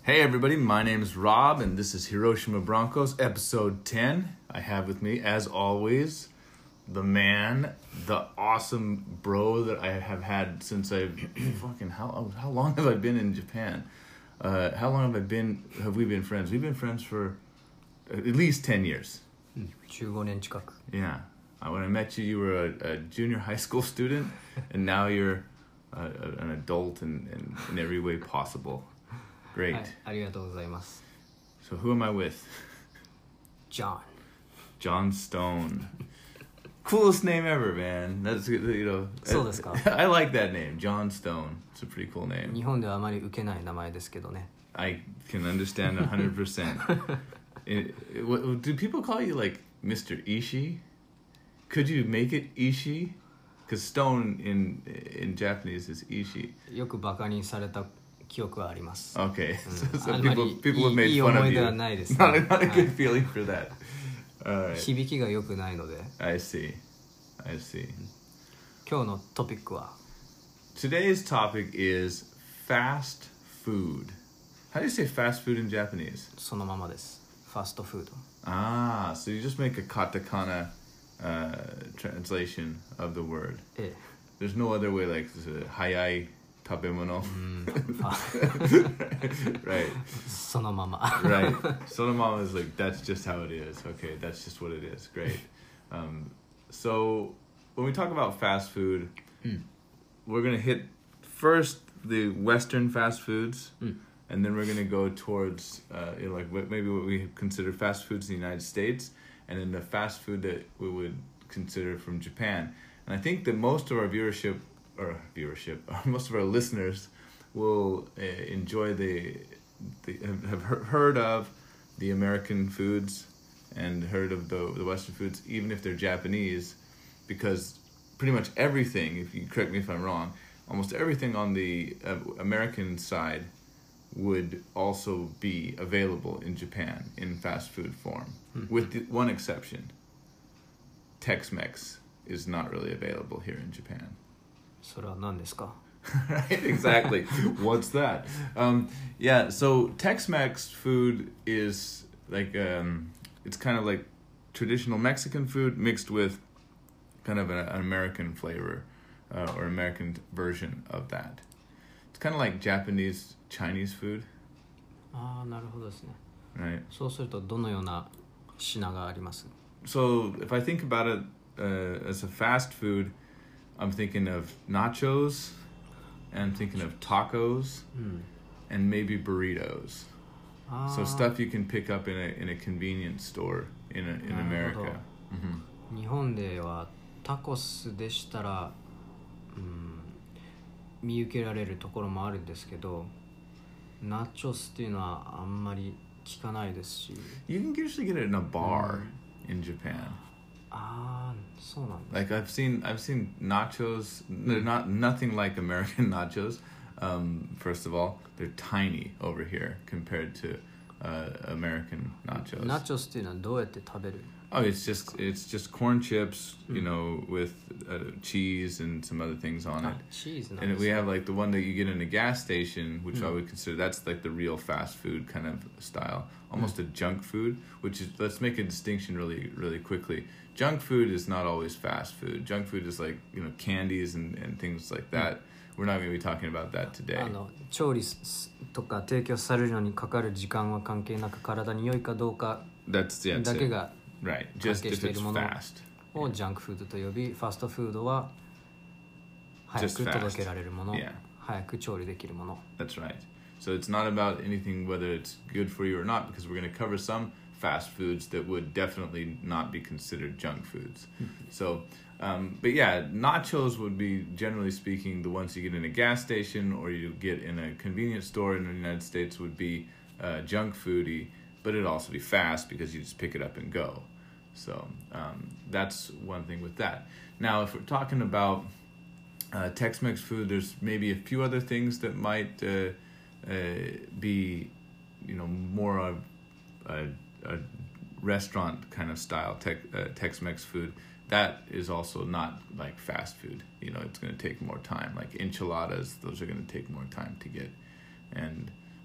Hey everybody, my name is Rob and this is Hiroshima Broncos episode 10. I have with me, as always, the man, the awesome bro that I have had since I've how long have I been in Japan? How long have we been friends? We've been friends for at least 10 years. 15年近く Yeah. When I met you, you were a junior high school student, and now you're an adult in every way possible. Great. はい、ありがとうございます So who am I with? John John Stone. Coolest name ever, man. That's, you know. そうですか I like that name, John Stone. It's a pretty cool name. 日本ではあまり受けない名前ですけどね I can understand 100%. Do people call you like Mr. Ishii? Could you make it Ishii? Because Stone in Japanese is Ishii. よくバカにされた記憶はあります Okay. So あんまり people have い made い fun 思 of い出は you. ないですね Not a は good い feeling for that. All right. 響きが良くないので I see. 今日のトピックは Today's topic is fast food. How do you say fast food in Japanese? そのままですファストフード Ah, so you just make a katakana translation of the word. え There's no other way, like hayai tabemono. え Right, そのまま right. Sonomama is like, that's just how it is. Okay, that's just what it is. Great. So when we talk about fast food, we're going to hit first the Western fast foods, and then we're going to go towards maybe what we consider fast foods in the United States, and then the fast food that we would consider from Japan. And I think that most of our most of our listeners will enjoy have heard of the American foods and heard of the Western foods, even if they're Japanese, because pretty much everything, if you correct me if I'm wrong, almost everything on the American side would also be available in Japan in fast food form, with one exception. Tex-Mex is not really available here in Japan. それは何ですか Right, exactly. What's that? Yeah, so Tex-Mex food is like it's kind of like traditional Mexican food mixed with kind of an American flavor or American version of that. It's kind of like Japanese Chinese food, ああなるほどですね right? そうするとどのような品があります So if I think about it as a fast food, I'm thinking of nachos, and I'm thinking of tacos, and maybe burritos. あ So ー stuff you can pick up in a convenience store in なるほど America. Mhm. 日本ではタコスでしたら、見受けられるところもあるんですけどナチョスっていうのはあんまり聞かないですし You can usually get it in a bar in Japan. ああそうなんです Like I've seen nachos. They're nothing like American nachos. First of all, they're tiny over here compared to American nachos. ナチョスっていうのはどうやって食べる Oh, it's just corn chips, you know, with cheese and some other things on it. チーズなん And です we ね have like the one that you get in a gas station, which I would consider that's like the real fast food kind of style, almost a junk food. Which is, let's make a distinction really, really quickly. Junk food is not always fast food. Junk food is like, you know, candies and things like that. We're not going to be talking about that today. 調理とか提供されるのにかかる時間は関係なく体に良いかどうか That's だ it. けが Right. Just if it's 関係しているもの fast. をジャンクフードと呼びファストフードは早 Just く fast. 届けられるもの Yeah. 早く調理できるもの That's right. So it's not about anything whether it's good for you or not, because we're going to cover some fast foods that would definitely not be considered junk foods. So, but yeah, nachos would be, generally speaking, the ones you get in a gas station or you get in a convenience store in the United States would be junk foody, but it'd also be fast because you just pick it up and go. So that's one thing with that. Now, if we're talking about Tex-Mex food, there's maybe a few other things that might be, you know, more of a restaurant kind of style Tex-Mex food. That is also not like fast food. You know, it's going to take more time. Like enchiladas, those are going to take more time to get. And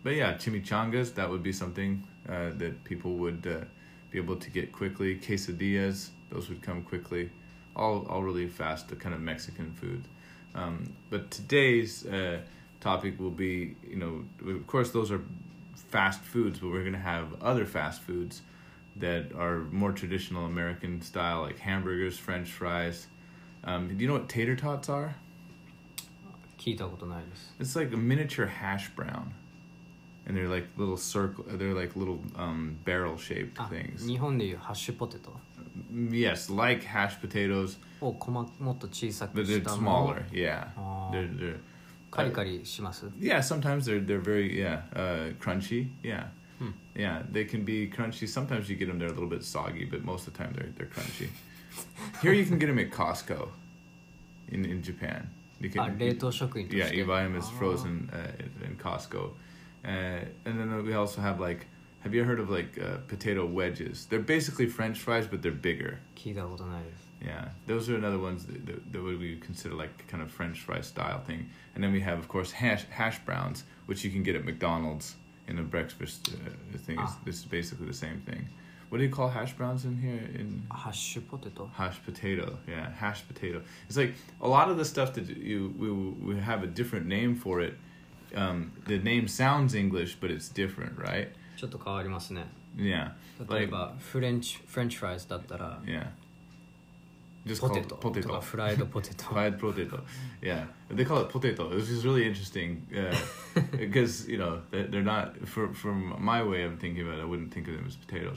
But yeah, chimichangas, that would be something that people would be able to get quickly. Quesadillas, those would come quickly. All really fast, the kind of Mexican food. But today's topic will be, of course those are fast foods, but we're going to have other fast foods that are more traditional American style, like hamburgers, French fries. Do you know what tater tots are? 聞いたことないです。 It's like a miniature hash brown, and they're like little they're like little barrel-shaped あ、 things. 日本でいうハッシュポテト Yes, like hashed potatoes, をもっと小さく but し they're たもの smaller. Yeah, あー they're カリカリします yeah. Sometimes they're very crunchy. Yeah, Hmm. yeah. They can be crunchy. Sometimes you get them, they're a little bit soggy, but most of the time they're crunchy. Here you can get them at Costco, in Japan. You あ、冷凍食品として Yeah, you buy them as あー frozen in Costco. And then we also have have you heard of potato wedges? They're basically French fries, but they're bigger. 聞いたことないです Yeah, those are another ones that would we consider like kind of French fry style thing. And then we have, of course, hash browns, which you can get at McDonald's in a breakfast thing. Ah. This is basically the same thing. What do you call hash browns in here? In ハッシュポテト Hashed potato, yeah, hashed potato. It's like a lot of the stuff that we have a different name for it. The name sounds English, but it's different, right? ちょっと変わりますね Yeah, 例えばフレンチフライズだったら yeah. Just ポ call テ it トと potato. かフライドポテト Fried potato. Yeah, they call it potato, which is really interesting because they're not. From my way of thinking about it, I wouldn't think of them as potatoes.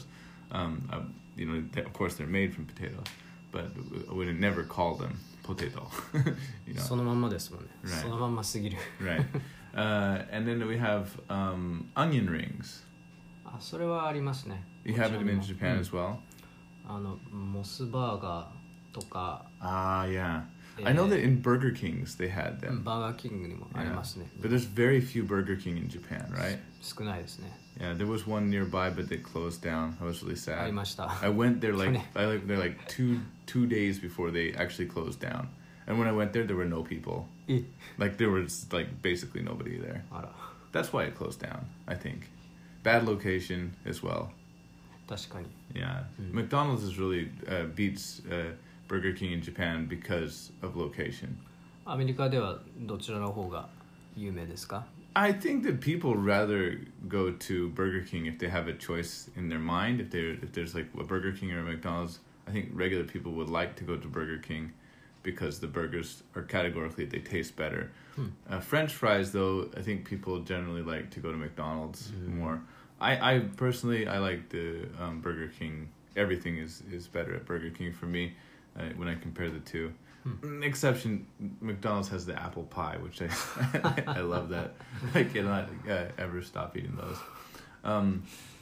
Of course they're made from potatoes, but I would never call them potato. そのまんまですもんね Right. そのまんますぎる Right. And then we have onion rings. あ、それはありますね You have them in Japan as well. モスバーガーとか Ah, yeah. I know that in Burger Kings they had バー them. ガーキングにもありますね But there's very few Burger King in Japan, right? 少ないですね Yeah, there was one nearby, but they closed down. I was really あり sad. ました I went there Funny. they're like two days before they actually closed down. And when I went there were no people. え Like there was basically nobody there. あら That's why it closed down, I think. Bad location as well. 確かに Yeah. McDonald's is really beats Burger King in Japan because of location. アメリカではどちらの方が有名ですか I think that people rather go to Burger King if they have a choice in their mind. If there's like a Burger King or a McDonald's, I think regular people would like to go to Burger King because the burgers are categorically they taste better. French fries, though, I think people generally like to go to McDonald's more. I personally I like the Burger King. Everything is better at Burger King for me when I compare the two. Exception, McDonald's has the apple pie, which I love that. I cannot ever stop eating those.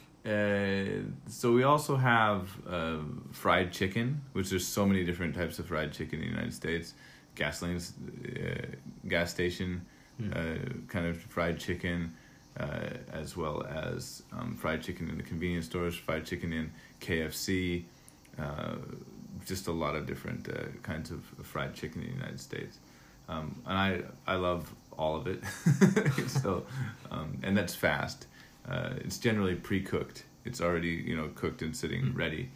So we also have fried chicken, which there's so many different types of fried chicken in the United States. Gas station kind of fried chicken, as well as fried chicken in the convenience stores, fried chicken in KFC, just a lot of different kinds of fried chicken in the United States. And I love all of it. So, and that's fast. It's generally pre-cooked. It's already, cooked and sitting ready.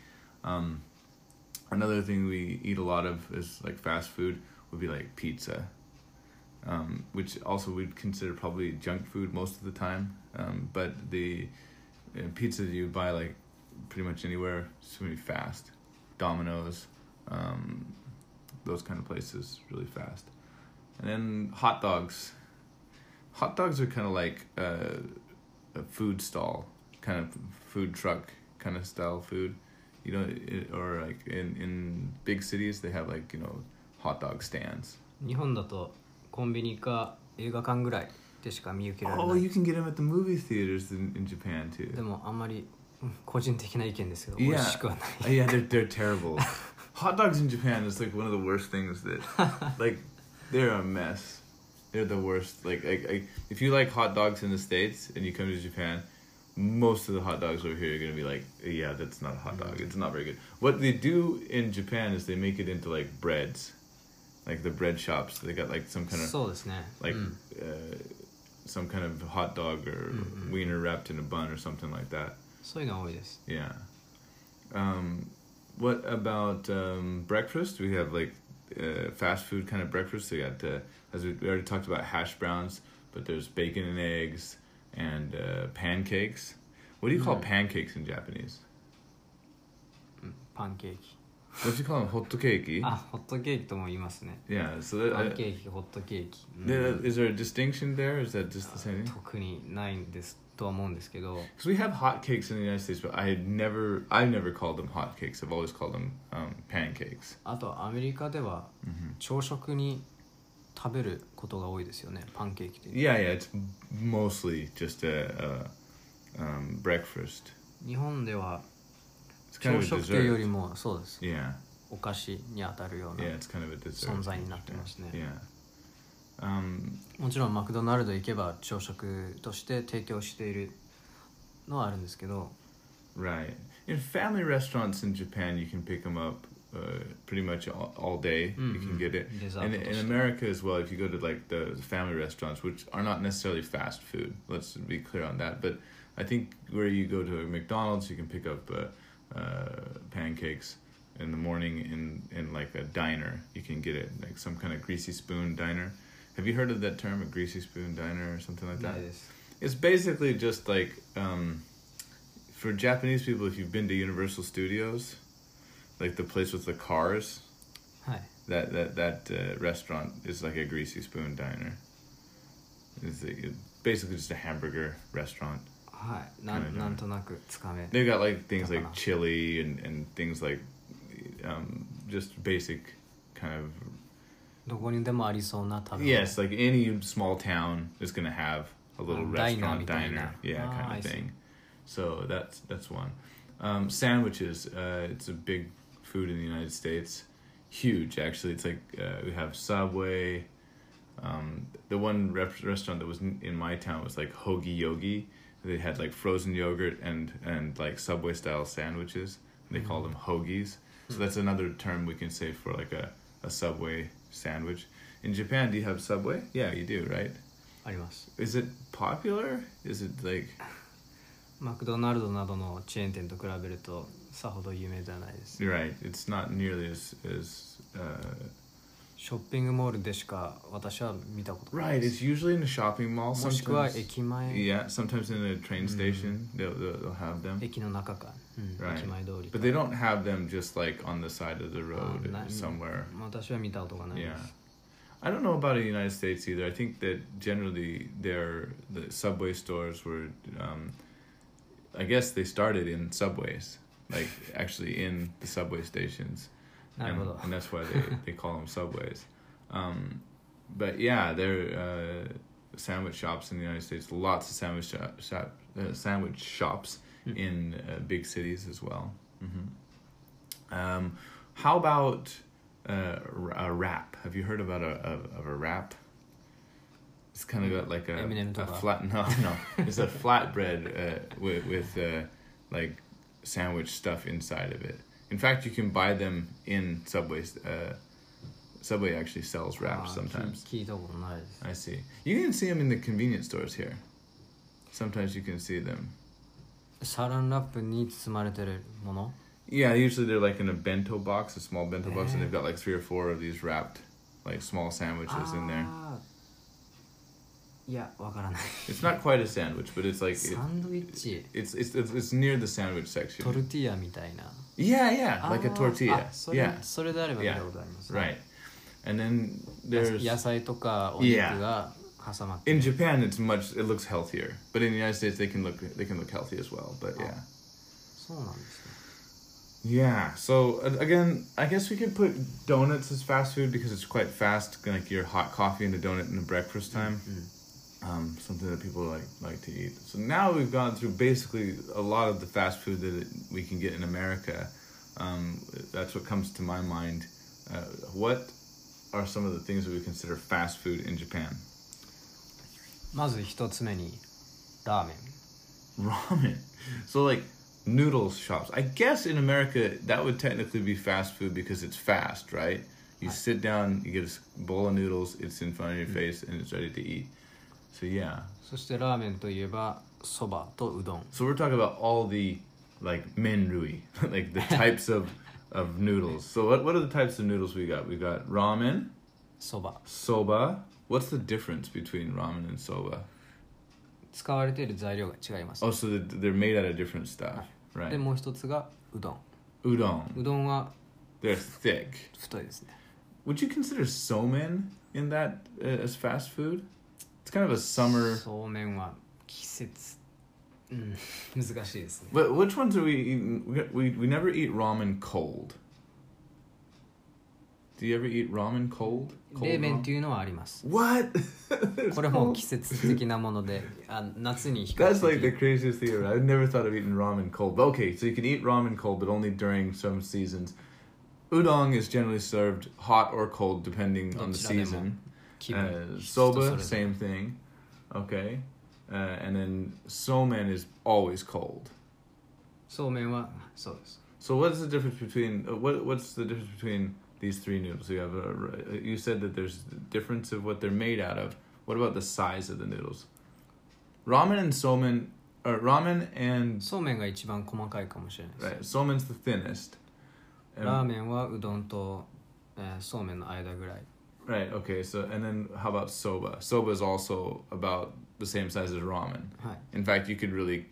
Another thing we eat a lot of is like fast food would be like pizza, which also we'd consider probably junk food most of the time. But the pizza that you buy like pretty much anywhere, it's really fast. Domino's, those kind of places, really fast. And then hot dogs. Hot dogs are kind of like a food stall, kind of food truck kind of style food, or like in big cities they have like hot dog stands. 日本だとコンビニか映画館ぐらいでしか見受けられない Oh, you can get them at the movie theaters in Japan too. でもあんまり個人的な意見ですけど Yeah. 美味しくはない Yeah, they're terrible. Hot dogs in Japan is like one of the worst things that, like, they're a mess. They're the worst. Like, if you like hot dogs in the States and you come to Japan, most of the hot dogs over here are going to be like, yeah, that's not a hot dog. It's not very good. What they do in Japan is they make it into like breads. Like the bread shops. They got like some kind of そうですね like some kind of hot dog or wiener wrapped in a bun or something like that. そういうの多いです。 Yeah. What about breakfast? We have like fast food kind of breakfast. We got, as we already talked about, hash browns, but there's bacon and eggs and pancakes. What do you call pancakes in Japanese? パンケーキ。 What do you call them? Hot cake? あ、ホットケーキとも言いますね。 Yeah. So パンケーキ、ホットケーキ。 is there a distinction there? Or is that just the same thing? 特にないんですとは思うんですけど、 Because we have hot cakes in the United States, but I've never called them hot cakes. I've always called them pancakes. あとアメリカでは朝食に食べることが多いですよね、パンケーキって。 Yeah, it's mostly just a breakfast. 日本では It's kind 朝 of a 食というより dessert. もそうです。 Yeah, お菓子に当たるような yeah, it's kind of a dessert. 存在になってますね。 Yeah. もちろんマクドナルド行けば朝食として提供しているのはあるんですけど、 Right. In family restaurants in Japan, you can pick them up pretty much all day. You can get it. And in America as well, if you go to like the family restaurants, which are not necessarily fast food, let's be clear on that. But I think where you go to a McDonald's, you can pick up pancakes in the morning in like a diner. You can get it, like some kind of greasy spoon diner. Have you heard of that term, a greasy spoon diner or something like な that? いです。 It's basically just like for Japanese people, if you've been to Universal Studios, like the place with the cars, はい。 that restaurant is like a greasy spoon diner. It's basically just a hamburger restaurant. はい。なんとなくつかめ。 They've got like things like だかな。 chili and things like just basic kind of どこにでもありそうな食べ物。 yes, like any small town is gonna have a little restaurant diner, yeah, kind I of see. thing. So that's one. Sandwiches, it's a big food in the United States. Huge, actually. It's like we have Subway. The one restaurant that was in my town was like Hoagie Yogi. They had like frozen yogurt and like Subway style sandwiches. They call them hoagies. So that's another term we can say for like a Subway sandwich. In Japan, do you have Subway? Yeah, you do, right? あります。 Is it popular? Is it like マクドナルドなどのチェーン店と比べるとさほど有名ではないです。 right? It's not nearly as ショッピングモールでしか私は見たことない right. で It's す。 usually in a shopping mall. もしくは Sometimes 駅前、 yeah, sometimes in a train station they'll have them. 駅の中か、 Right. 駅前通りか。 But they don't have them just like on the side of the road な somewhere. 私は見たことがないで Yeah. す。 I don't know about the United States either. I think that generally the subway stores were, I guess they started in subways, like actually in the subway stations, なるほど。 and that's why they call them subways. But yeah, there are sandwich shops in the United States. Lots of sandwich shops in big cities as well. How about a wrap? Have you heard about a wrap? It's kind of got like a flat. No. It's a flatbread with like sandwich stuff inside of it. In fact, you can buy them in Subways. Subway actually sells wraps sometimes. 聞いたことないです。 I see. You can see them in the convenience stores here. Sometimes you can see them. サランラップに包まれてるもの？ Yeah, usually they're like in a bento box, a small bento box, and they've got like 3 or 4 of these wrapped, like small sandwiches in there. いや、わからない。 It's not quite a sandwich, but it's like サンドイッチ、 it's near the sandwich ト section. ルティーヤみたいな。 Yeah, like a tortilla. あ、それ、 Yeah, それであれば見たことあります。 right. And then there's 野菜とかお肉が挟まってる。 in Japan it looks healthier, but in the United States they can look healthy as well. But yeah. そうなんですね。 Yeah, so again, I guess we could put donuts as fast food because it's quite fast, like your hot coffee and a donut in the breakfast time. Something that people like to eat. So now we've gone through basically a lot of the fast food that we can get in America. That's what comes to my mind. What are some of the things that we consider fast food in Japan? まず一つ目にラーメン。 Ramen. So like noodles shops. I guess in America that would technically be fast food because it's fast, right? You sit down, you get a bowl of noodles, it's in front of your face, and it's ready to eat. So yeah. そしてラーメンといえばそばとうどん。 So we're talking about all the like menrui, like the types of noodles. So what are the types of noodles we got? We got ramen, そば soba. What's the difference between ramen and soba? 使われている材料が違います。 Oh, so they're made out of different stuff, で right? もう一つがうどん。 Udon. うどんは They're thick. 太いですね。 Would you consider somen in that as fast food? It's kind of a summer. そうめんは季節、難しいですね。 But which ones are we eating? We never eat ramen cold. Do you ever eat ramen cold? 冷 Cold 麺っ ramen? ていうのはあります。 What? これも季節的なもので、夏に比較 That's like the 的 craziest thing ever. I've never thought of eating ramen cold. But okay, so you can eat ramen cold, but only during some seasons. Udon is generally served hot or cold depending on the どちらでも season. 気分、 Soba, 人それぞれ same thing. Okay. And then somen is always cold. そうめんはそうです。 So what's the difference between what's the difference between these three noodles? You have you said that there's a difference of what they're made out of. What about the size of the noodles? Ramen and somen, ramen and そうめんが一番細かいかもしれないです。 right. Somen's the thinnest. ラーメンはうどんと、そうめんの間ぐらい。 Right. Okay. So and then how about soba? Soba is also about the same size as ramen. はい。 In fact, you could really,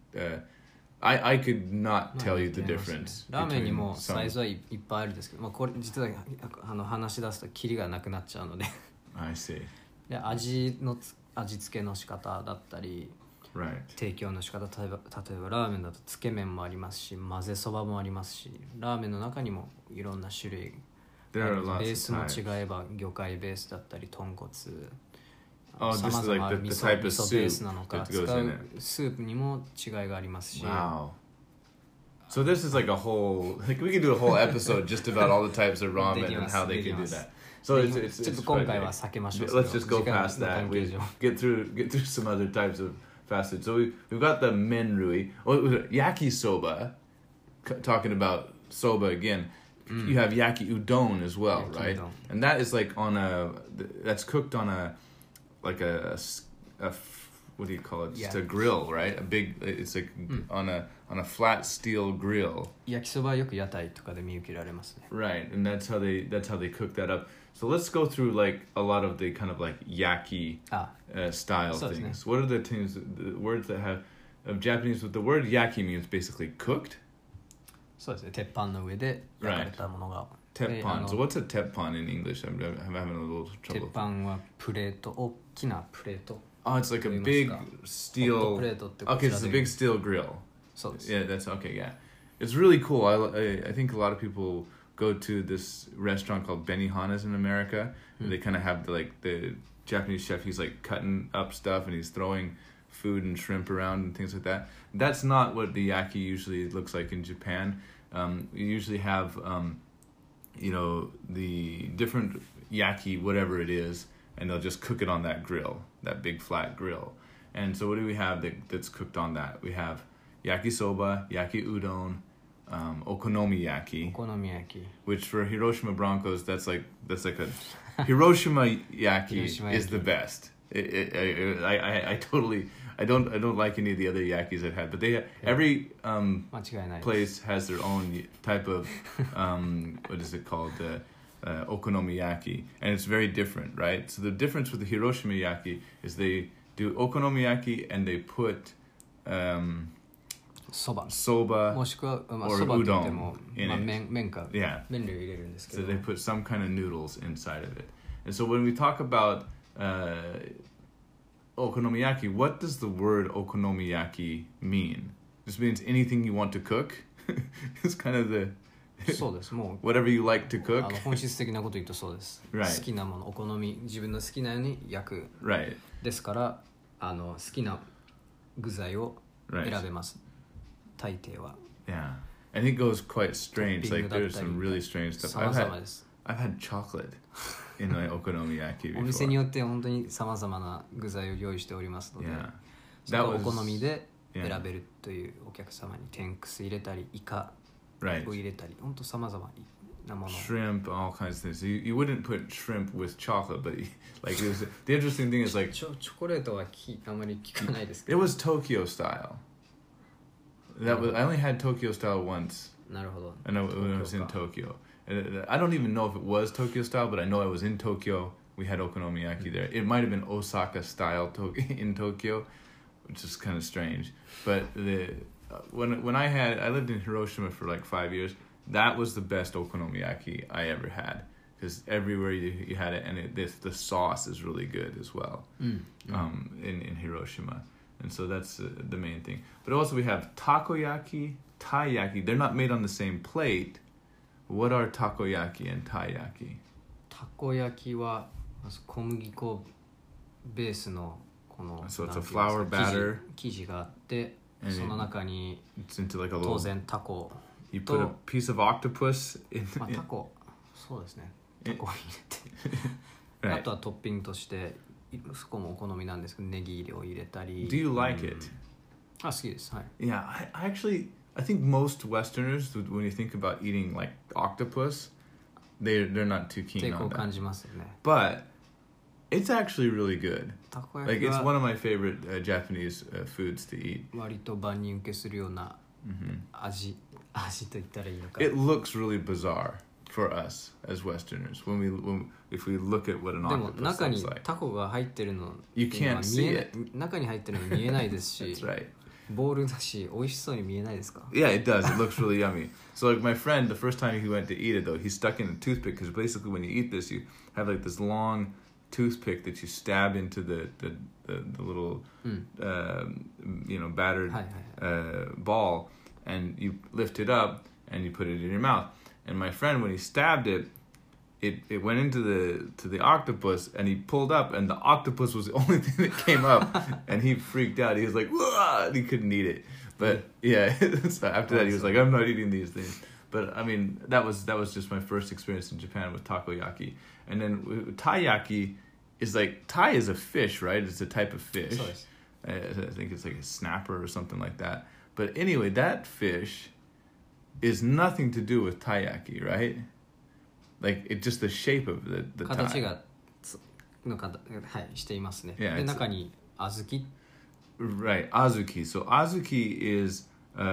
I could not まあ tell you 似 the てますね difference ラーメンに between もサイ some. ズはいっぱいあるんですけど、まあ、これ実は話し出すとキリがなくなっちゃうので I see. で味付けの仕方だったり Right. 提供の仕方、例えばラーメンだとつけ麺もありますし、混ぜそばもありますし、ラーメンの中にもいろんな種類 There are ベー lots ス of も types. 違えば魚介ベースだったり豚骨、 Oh, 様 just 々 like the 味 type 噌 of ベー soup スなのか that 使 goes う in it. スープにも違いがありますし、 Wow. So this is like a whole, like we could do a whole episode just about all the types of ramen and how they can do that. So it's ちょっ it's と今 quite 回は big. 避けましょう。 Let's just go 時間 past の that. 関係 We 上 get through some other types of fast food. So we've got the menrui. Oh, yakisoba. Talking about soba again. You have yaki udon as well, Yaki right? udon. And that is like that's cooked on like a what do you call it? Just Yeah. a grill, right? It's like on a flat steel grill. 焼きそばはよく屋台とかで見受けられますね。 Right, and that's how they cook that up. So let's go through like a lot of the kind of like yaki あ、 style So, things. What are the things, the words that have of Japanese? With the word yaki means basically cooked. そうですね。鉄板の上で焼かれたものが。 Teppan. So what's a teppan in English? I'm having a little 鉄 trouble. 板はプレート、大きなプレート。 Oh, it's like a と言います big か。 steel. ホットプレートってこ Okay, ちら it's で a 言う big steel grill. そうです。 Yeah, that's okay. Yeah, it's really cool. I think a lot of people go to this restaurant called Benihana's in America. And they kind of have the Japanese chef. He's like cutting up stuff and he's throwing food and shrimp around and things like that. That's not what the yaki usually looks like in Japan. You usually have, the different yaki, whatever it is, and they'll just cook it on that grill, that big flat grill. And so what do we have that's cooked on that? We have yakisoba, yaki udon, okonomiyaki, お好み焼き。 which for Hiroshima Broncos, that's like a Hiroshima yaki Hiroshima is yaki. the best. I totally I don't like any of the other yakis I've had, but every 間違いないです。 place has their own type of what is it called, okonomiyaki, and it's very different, right? So the difference with the Hiroshima yaki is they do okonomiyaki and they put そば。 soba, もしくは、まあ、 or そばといっても udon、in まあ、 it. 麺か yeah. 麺類を入れるんですけ So ど、 they put some kind of noodles inside of it. And so when we talk about okonomiyaki, what does the word okonomiyaki mean? This means anything you want to cook. It's kind of the そうです。もう whatever you like to あ cook. の本質的なこと言うとそうです。 Right. 好きなもの、お好み、自分の好きなように焼く。 Right. ですから好きな具材を Right. 選べます。大抵は Yeah. And it goes quite strange. Like Topping there's some really strange stuff. 様々です。 I've had chocolate in my okonomiyaki お店に before. よって本当に様々な具材を用意しておりますので、 Yeah. それ That をお was 好みで yeah. 選べるというお客様に天くす入れたりイカ right. を入れたり本当様々 なもの shrimp, all kinds of things. You wouldn't put shrimp with chocolate, but like it was, the interesting thing is like チョコレートはあまり聞かないですけ it ど was Tokyo style. That was I only had Tokyo style once. なるほど I know when I was in Tokyo. And I don't even know if it was Tokyo style, but I know I was in Tokyo. We had okonomiyaki there. It might have been Osaka style in Tokyo, which is kind of strange. But when I lived in Hiroshima for like 5 years. That was the best okonomiyaki I ever had because everywhere you had it, and the sauce is really good as well. In Hiroshima, and so that's the main thing. But also we have takoyaki, taiyaki. They're not made on the same plate. What are takoyaki and taiyaki? たこ焼きは小麦粉ベースのこの So it's なん a ていうん flour ですか batter. 生地があって And その中に It's into like a 当 little. 然タコ You put a と piece of octopus in. まあタコそうですねタコを入れて Right. あとはトッピングとしてそこもお好みなんですけどネギを入れたり Do you like it? あ好きですはい Yeah, I think most Westerners, when you think about eating like octopus, they're not too 抵 keen 抗 on 感 that. じますよね But it's actually really good. たこ Like 焼き it's は one of my favorite Japanese foods to eat. 割と万人受けするような味と言ったらいいのか It looks really bizarre for us as Westerners if we look at what an でも octopus 中に looks like. タコが入ってるの You っていうのは can't 見え see ない it. 中に入ってるの見えないですし That's right. ボールだし美味しそうに見えないですか Yeah, it does. It looks really yummy. So like my friend, the first time he went to eat it though, he stuck in a toothpick because basically when you eat this, you have like this long toothpick that you stab into the little battered はいはいはい ball, and you lift it up and you put it in your mouth. And my friend, when he stabbed it, it went into the octopus, and he pulled up, and the octopus was the only thing that came up, and he freaked out. He was like, "Whoa!" And he couldn't eat it. But yeah, so after that, he was like, "I'm not eating these things." But I mean, that was just my first experience in Japan with takoyaki. And then taiyaki is like tai is a fish, right? It's a type of fish. そうです I think it's like a snapper or something like that. But anyway, that fish is nothing to do with taiyaki, right? Like it's just the shape of the 形 tai. がのかはいしていますね Yeah, で it's- 中に小豆 Right, azuki. So azuki is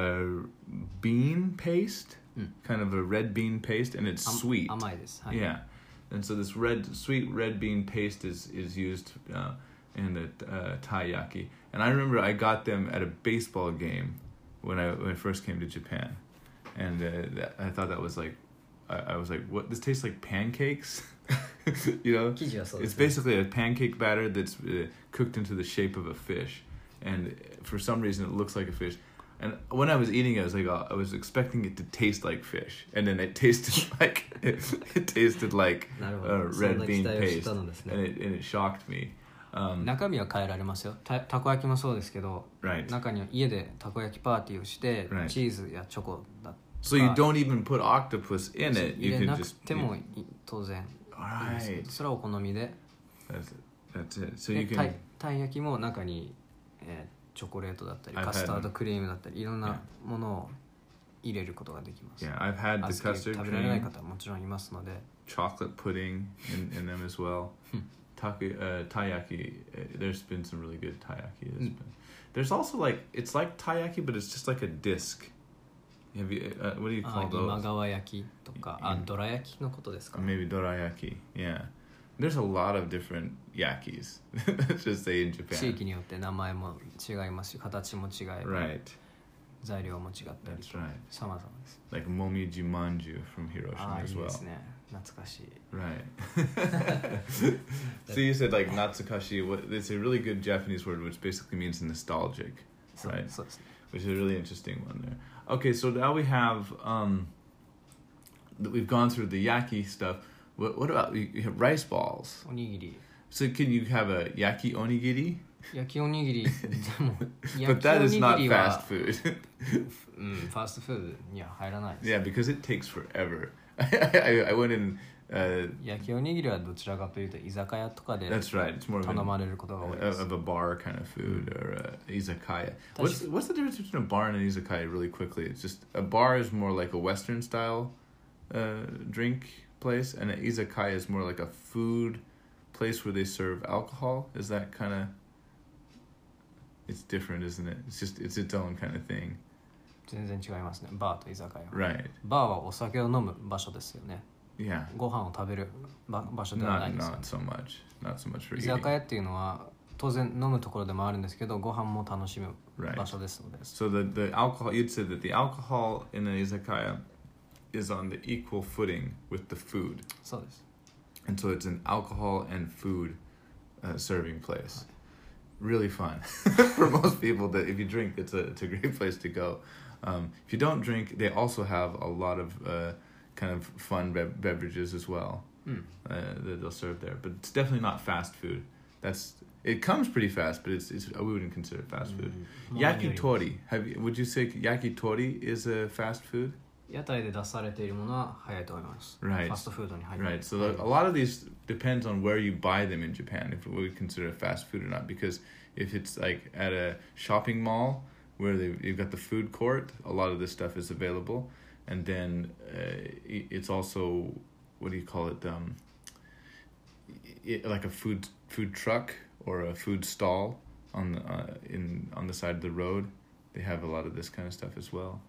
bean paste, kind of a red bean paste, and it's sweet. 甘いですはい Yeah, and so this sweet red bean paste is used in the taiyaki. And I remember I got them at a baseball game when I first came to Japan, and I thought that was like, I was like, what? This tastes like pancakes, you know? 生地はそうで It's すね basically a pancake batter that's cooked into the shape of a fish, and for some reason it looks like a fish. And when I was eating it, I was like, I was expecting it to taste like fish, and then it tasted like it tasted like なるほど red そんな期 bean 待をし paste, たのですね and it shocked me. 中身は変えられますよたこ焼きもそうですけど Right. 中には家でたこ焼きパーティーをして Right. チーズやチョコだとか So you don't even put octopus in it. 入 You れ can なく just ても当然いいです right. それはお好みで That's it. So で you た can いたい焼きも中にチョコレートだったり I've had カスタードクリームだったりいろんなものを入れることができます yeah. I've had the 小豆 custard 食べられない cream, 方はもちろんいますので chocolate pudding in them as well. Taiyaki. There's been some really good taiyaki. There's also like it's like taiyaki, but it's just like a disc. Have you? What do you あ call 今 those? 川焼きとかどら焼きのことですか Or maybe dorayaki. Yeah. There's a lot of different yakis. Let's just say in 地 Japan. 域によって名前も違いますし形も違い Right. 材料も違ったり That's right. さまざまです Like momiji manju from あ Hiroshima あい as いで well. すね懐かしい Right. So you said like natsukashi. It's a really good Japanese word, which basically means nostalgic, そう right? そうですね Which is a really interesting one there. Okay, so now we have we've gone through the yaki stuff. What about you have rice balls? おにぎり So can you have a yaki onigiri? 焼きおにぎりでも But 焼き that お is に not ぎり fast は food. うんファーストフードには入らないです Yeah, because it takes forever. I went in. 焼きおにぎりはどちらかというと居酒屋とかで That's right. It's more of 頼ま a れることが多いです of a bar kind of food or izakaya. That's- What's the difference between a bar and an izakaya? Really quickly, it's just a bar is more like a Western style drink place, and an izakaya is more like a food place where they serve alcohol. Is that kind of? It's different, isn't it? It's its own kind of thing. 全然違いますね。バーと居酒屋。 Right. バーはお酒を飲む場所ですよね。 Yeah. ご飯を食べる場所ではないですよね。 Not so much for 居 eating. 酒屋っていうのは当然飲むところでもあるんですけど、ご飯も楽しむ場所ですので。 So the alcohol, you'd say that the alcohol in an izakaya is on the equal footing with the food. そうです。 And so it's an alcohol and food serving place. Really fun for most people. That if you drink, it's a great place to go. If you don't drink, they also have a lot of kind of fun beverages as well that they'll serve there. But it's definitely not fast food. It comes pretty fast, but it's we wouldn't consider it fast food. Yakitori. Would you say yakitori is a fast food? 屋台で出されているものは早いと思います。 Right. ファストフードに入る。 Right. So a lot of these depends on where you buy them in Japan, if we would consider it fast food or not. Because if it's like at a shopping mall where you've got the food court, a lot of this stuff is available. And then it's also, what do you call it? Like a food truck or a food stall on the side of the road. They have a lot of this kind of stuff as well.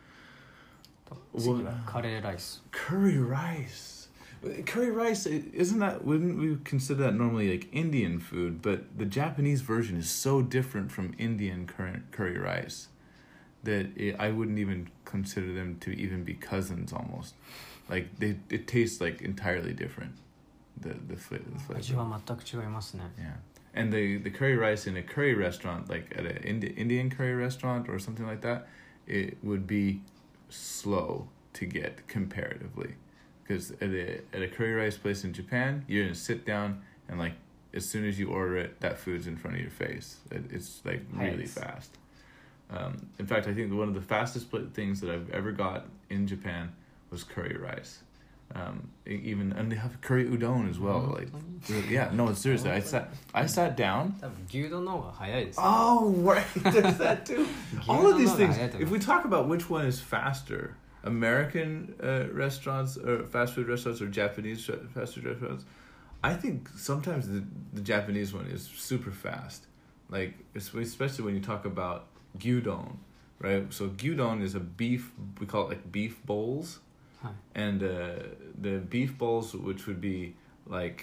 次はカレーライス。 Curry rice. Curry rice, wouldn't we consider that normally like Indian food? But the Japanese version is so different from Indian curry rice that I wouldn't even consider them to even be cousins almost. Like it tastes like entirely different. The flavor. 味は全く違いますね。 Yeah. And the curry rice in a curry restaurant, like at an Indian curry restaurant or something like that, it would be slow to get comparatively, because at a curry rice place in Japan, you're gonna sit down and like as soon as you order it, that food's in front of your face. It's like really fast. In fact, I think one of the fastest things that I've ever got in Japan was curry rice. And they have curry udon as well. Like, yeah, no, seriously. I sat down. 多分牛丼の方が早いです。 Oh, right. There's that too. All of these things. If we talk about which one is faster, American restaurants or fast food restaurants or Japanese fast food restaurants, I think sometimes the Japanese one is super fast. Like, especially when you talk about gyudon, right? So gyudon is a beef, we call it like beef bowls. And the beef bowls, which would be like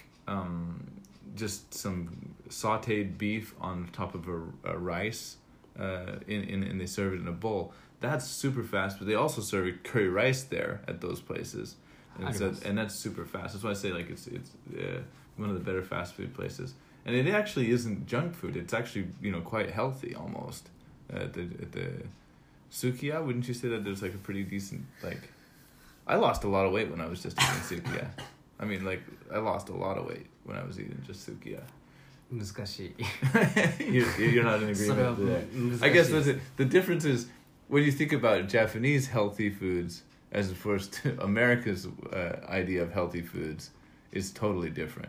just some sautéed beef on top of a rice, and they serve it in a bowl. That's super fast, but they also serve curry rice there at those places, and that's super fast. That's why I say like it's one of the better fast food places. And it actually isn't junk food. It's actually quite healthy almost. At the Sukiya, wouldn't you say that there's like a pretty decent like. I lost a lot of weight when I was just eating sukiya. I mean, like, I lost a lot of weight when I was eating just sukiya. 難しい。 You're not in agreement with that. I guess that's it. The difference is when you think about Japanese healthy foods as opposed to America's idea of healthy foods is totally different.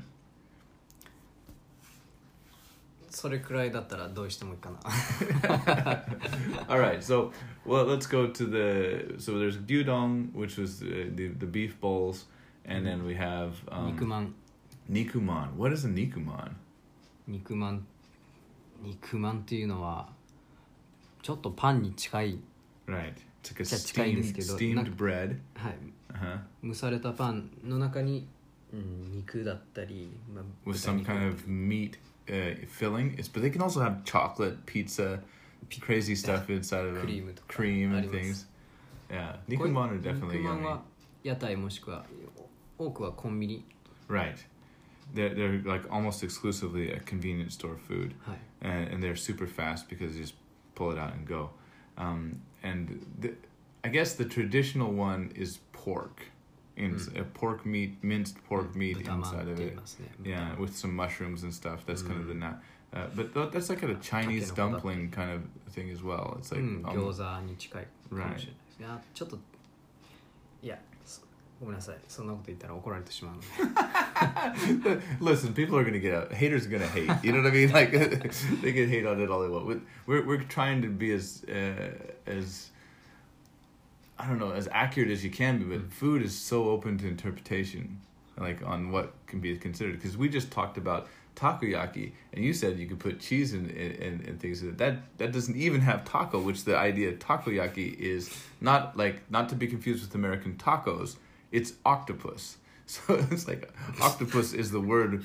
それくらいだったらどうしてもいいかな。 All right, so let's go to so there's gyudon, which was the beef bowls, and then we have 肉まん。 Nikuman. What is a nikuman? 肉まんっていうのはちょっとパンに近い。 Right. It's like a 近いんですけど、 steamed bread. はい。 Uh-huh. 蒸されたパンの中に、肉だったり、 With some kind of meat filling. But they can also have chocolate, pizza, crazy stuff inside of them. Cream and things. Yeah. Nikuman are definitely 肉まん yummy. は屋台もしくは多くはコンビニ。 Right. They're like almost exclusively a convenience store food. はい。 And they're super fast because you just pull it out and go. And I guess the traditional one is pork. Pork meat, minced pork meat inside of it. Yeah, with some mushrooms and stuff. That's kind of the but that's like a Chinese dumpling kind of thing as well. It's like 餃子に近いかもしれないです。 Right. いやちょっといやごめんなさいそんなこと言ったら怒られてしまうので。 Listen, people are gonna get out. Haters are gonna hate. You know what I mean? Like they can hate on it all they want. We're trying to be as I don't know, as accurate as you can be, but food is so open to interpretation, like on what can be considered. Because we just talked about takoyaki, and you said you could put cheese in things. That doesn't even have taco, which the idea of takoyaki is not to be confused with American tacos. It's octopus. So it's like octopus is the word,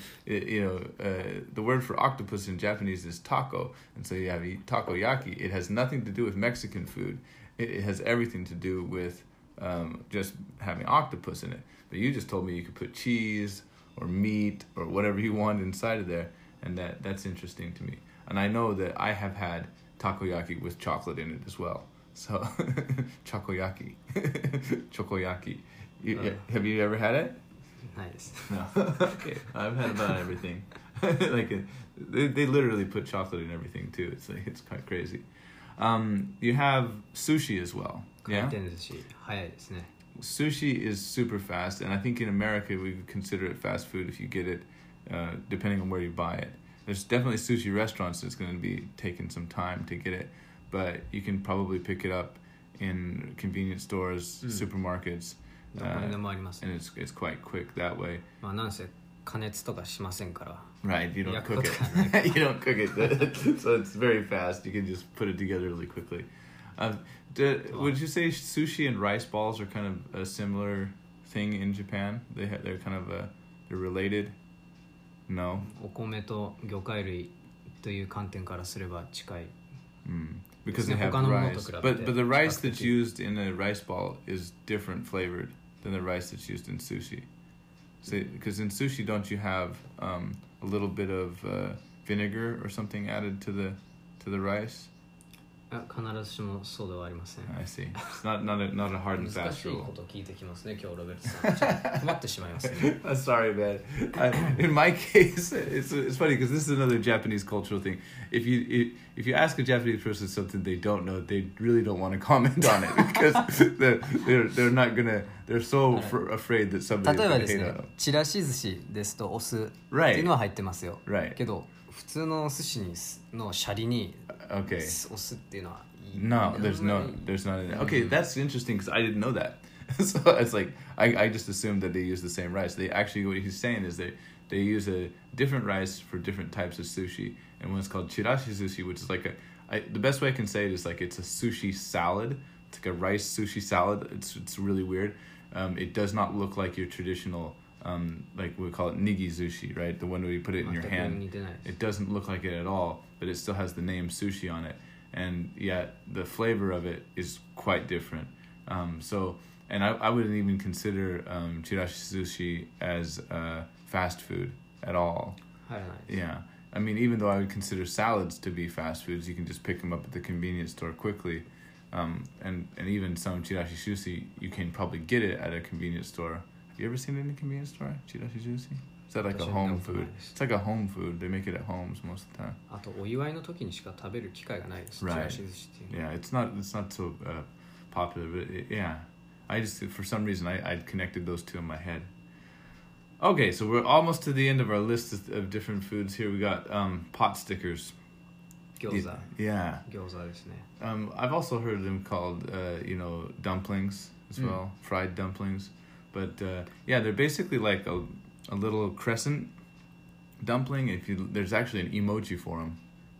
the word for octopus in Japanese is taco. And so you have takoyaki. It has nothing to do with Mexican food. It has everything to do with just having octopus in it. But you just told me you could put cheese or meat or whatever you want inside of there. And that's interesting to me. And I know that I have had takoyaki with chocolate in it as well. So chokoyaki. Chokoyaki. Have you ever had it? Nice. No. Okay. I've had about everything. They literally put chocolate in everything too. It's quite crazy. You have sushi as well. Yeah. 回転寿司早いですね。 Sushi is super fast, and I think in America we would consider it fast food if you get it, depending on where you buy it. There's definitely sushi restaurants that's going to be taking some time to get it, but you can probably pick it up in convenience stores, supermarkets, どこにでもありますね。 and it's quite quick that way. まあなんせ加熱とかしませんから。 Right, you don't cook 焼くことがない。 it. You don't cook it, so it's very fast. You can just put it together really quickly. Would you say sushi and rice balls are kind of a similar thing in Japan? They're kind of they're related. No. お米と魚介類という観点からすれば近い。 Because they have rice. But the rice that's used in a rice ball is different flavored than the rice that's used in sushi. Because in sushi, don't you have a little bit of vinegar or something added to the rice? 必ずしもそうではありません。 I see. It's not a hard and 難 fast しい rule. ことを聞いてきますね、今日ロベルトさん。ちょっと困ってしまいますね。 I'm sorry, man. In my case, it's funny because this is another Japanese cultural thing. If you ask a Japanese person something they don't know, they really don't want to comment on it because they're not gonna. They're so afraid that somebody's 例えば gonna です hate ね on them. ちらし寿司ですとお酢って Right. いうのは入ってますよ、 Right. けど普通のお寿司のシャリに Okay. お酢っていうのは No, there's not. Okay, that's interesting because I didn't know that. So it's like I just assumed that they use the same rice. They actually, what he's saying is they use a different rice for different types of sushi, and one is called chirashi sushi, which is like the best way I can say it is like it's a sushi salad. It's like a rice sushi salad. It's really weird. It does not look like your traditional like we call it nigi sushi, right? The one where you put it in your hand. It doesn't look like it at all, but it still has the name sushi on it. And yet the flavor of it is quite different. And I wouldn't even consider chirashi sushi as fast food at all. Yeah. I mean, even though I would consider salads to be fast foods, you can just pick them up at the convenience store quickly. And even some chirashi sushi, you can probably get it at a convenience store. Have you ever seen it in a convenience store, chirashi sushi? Is that like a home food? It's like a home food. They make it at homes most of the time. あとお祝いの時にしか食べる機会がないです。 Right. ちらし寿司っていうのは Yeah, it's not so popular, but yeah. I just, for some reason, I connected those two in my head. Okay, so we're almost to the end of our list of different foods here. We got pot stickers. 餃子 Yeah. 餃子ですね。 I've also heard them called, dumplings as well, fried dumplings. But yeah, they're basically like a little crescent dumpling. There's actually an emoji for them,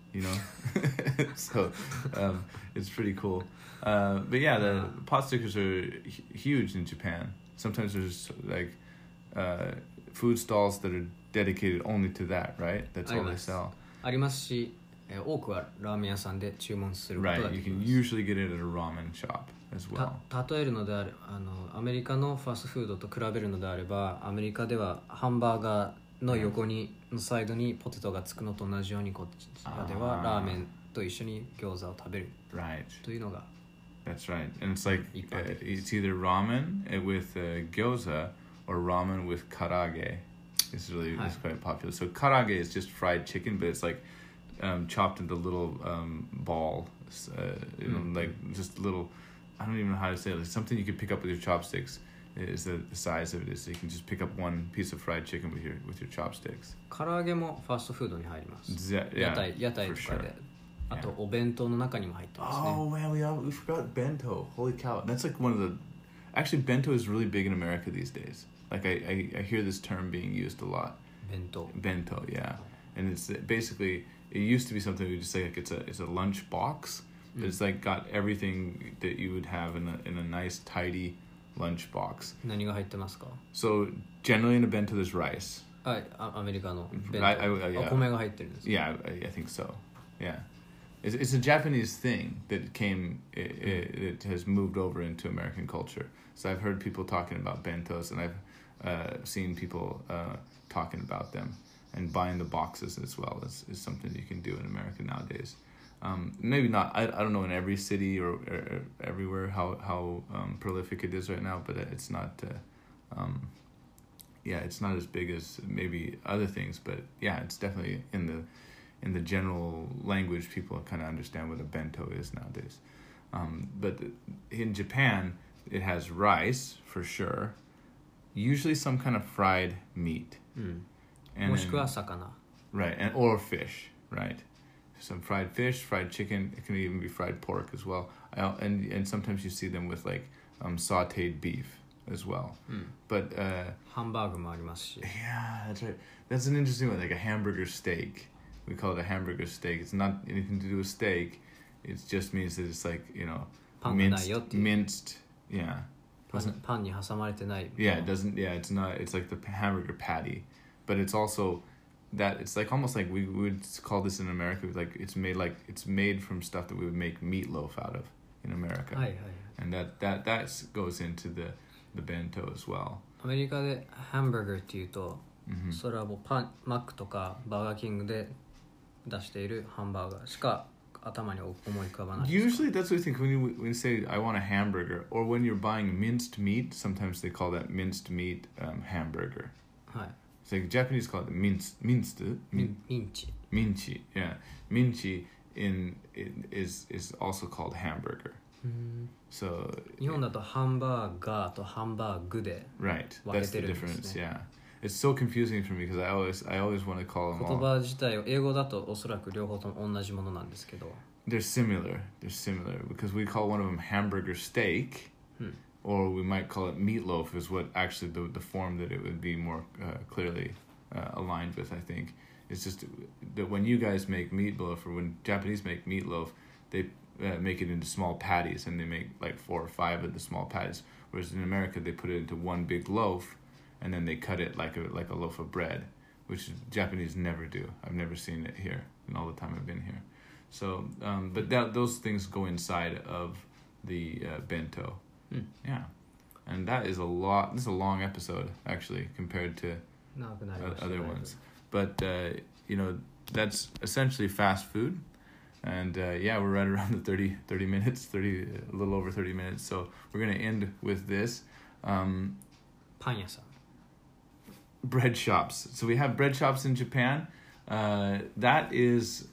so it's pretty cool. But yeah, the pot stickers are huge in Japan. Sometimes there's like food stalls that are dedicated only to that, right? That's all they sell. ありますし、多くはラーメン屋さんで注文することが Right, で you き can ます。 usually get it at a ramen shop as well. 例えるのであれアメリカのファストフードと比べるのであればアメリカではハンバーガーの横にのサイドにポテトがつくのと同じようにこちらではラーメンと一緒に餃子を食べる Right. というのが That's right. And it's like Ippaten. it's either ramen with gyoza or ramen with karage. It's quite popular. So karage is just fried chicken, but it's like chopped into little balls, like just little. I don't even know how to say it. Like something you could pick up with your chopsticks. Is the size of it is. So you can just pick up one piece of fried chicken with your chopsticks. 唐揚げもファストフードに入ります。 Yeah, 屋台と for か sure. であとお弁当の中にも入ってますね。 Oh man, we forgot bento. Holy cow. That's like one of the... Actually, bento is really big in America these days. Like I hear this term being used a lot. 弁当 Bento, yeah. And it's basically... It used to be something we just say like it's a lunch box. But it's like got everything that you would have in a nice tidy lunch box. 何が入ってますか？ So generally in a bento there's rice. アメリカの弁当 yeah. 米が入ってるんです。 Yeah, I think so. Yeah. It's a Japanese thing that it has moved over into American culture. So I've heard people talking about bentos, and I've seen people talking about them, and buying the boxes as well is something you can do in America nowadays. Maybe not. I don't know in every city or everywhere how prolific it is right now, but it's not. It's not as big as maybe other things, but yeah, it's definitely in the general language, people kind of understand what a bento is nowadays. But in Japan, it has rice for sure, usually some kind of fried meat. もしくは魚。 Right, or fish, right? Some fried fish, fried chicken. It can even be fried pork as well. And sometimes you see them with like sautéed beef as well. But ハンバーグもありますし。 yeah, that's right. That's an interesting one, like a hamburger steak. We call it a hamburger steak. It's not anything to do with steak. It just means that it's like, minced, yeah. パンに挟まれてない。 Yeah, it doesn't, yeah, it's not, it's like the hamburger patty. But it's also that, it's like almost like we would call this in America, like it's made from stuff that we would make meatloaf out of in America. はいはい。 And that goes into the bento as well. アメリカでハンバーガーっていうと、それはもうマックとかバーガーキングで出しているハンバーガーしか頭に思い浮かばないですか？ Usually that's what we think when you say I want a hamburger, or when you're buying minced meat, sometimes they call that minced meat hamburger. はい。 It's like Japanese call it minced. ミンチ。 Minchi, yeah. Minchi is also called hamburger. So 日本だとハンバーガーとハンバーグで right, 分 that's け the てるんですね。 difference. Yeah, it's so confusing for me because I always want to call them 言 all. 葉自体を英語だとおそらく両方とも同じものなんですけど、 They're similar because we call one of them hamburger steak, or we might call it meatloaf is what actually the form that it would be more clearly aligned with. I think it's just that when you guys make meatloaf, or when Japanese make meatloaf, they make it into small patties, and they make like 4 or 5 of the small patties. Whereas in America, they put it into one big loaf, and then they cut it like a loaf of bread, which Japanese never do. I've never seen it here in all the time I've been here. So, but those things go inside of the bento. Yeah, and that is a lot. This is a long episode actually compared to 長くなりました。 other ones. But that's essentially fast food. And yeah, we're right around the 30 minutes, a little over 30 minutes. So we're going to end with this. パン屋さん。 Bread shops. So we have bread shops in Japan. That is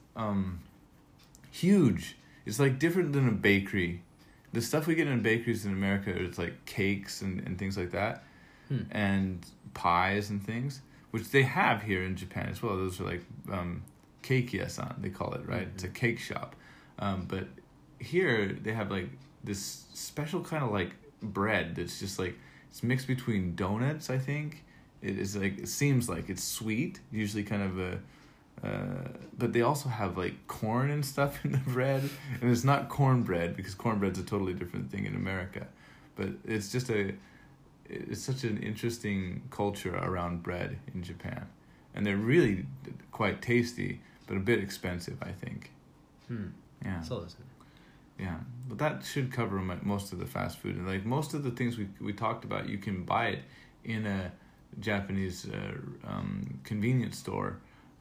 huge. It's like different than a bakery. The stuff we get in bakeries in America, it's like cakes and things like that. And pies and things, which they have here in Japan as well. Those are like cake yasan, they call it, right? It's a cake shop. But here they have like this special kind of like bread that's just like, it's mixed between donuts, I think. It seems like it's sweet, usually kind of but they also have like corn and stuff in the bread, and it's not cornbread because cornbread's a totally different thing in America. But it's such an interesting culture around bread in Japan, and they're really quite tasty, but a bit expensive, I think. Yeah. そうですね。 Yeah, but that should cover most of the fast food. And like most of the things we talked about, you can buy it in a Japanese convenience store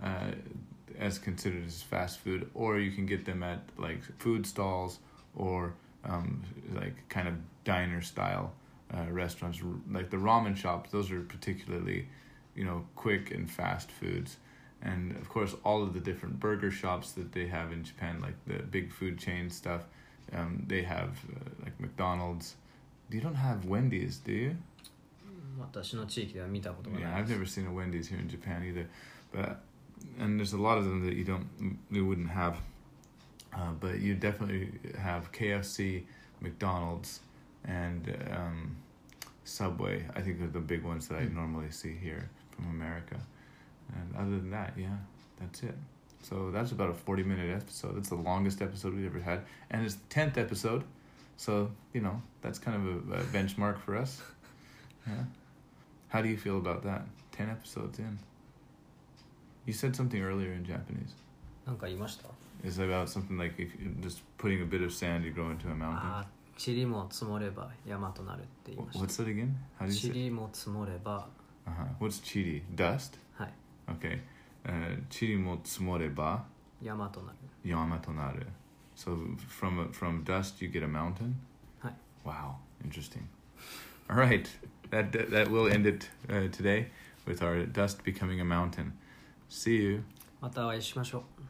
as considered as fast food, or you can get them at like food stalls or like kind of diner style restaurants, like the ramen shops. Those are particularly, quick and fast foods. And of course, all of the different burger shops that they have in Japan, like the big food chain stuff, they have like McDonald's. You don't have Wendy's, do you? 私の地域では見たことがない Yeah, です。 I've never seen a Wendy's here in Japan either. And there's a lot of them that you wouldn't have But you definitely have KFC, McDonald's, and Subway. I think are the big ones that I normally see here from America. And other than that, yeah, that's it. So that's about a 40-minute episode. That's the longest episode we've ever had. And it's the 10th episode. So, that's kind of a benchmark for us. Yeah. How do you feel about that? 10 episodes in. You said something earlier in Japanese. なんか言いました？ It's about something like if you're just putting a bit of sand, you grow into a mountain. あ、塵も積もれば山となるって言いました。 What's that again? How do you say? 塵も積もれば。 What's chiri? Dust? はい。 Okay. 塵も積もれば山となる。 山となる. So from dust you get a mountain? はい。 Wow, interesting. All right, that will end it today with our dust becoming a mountain. See you. またお会いしましょう。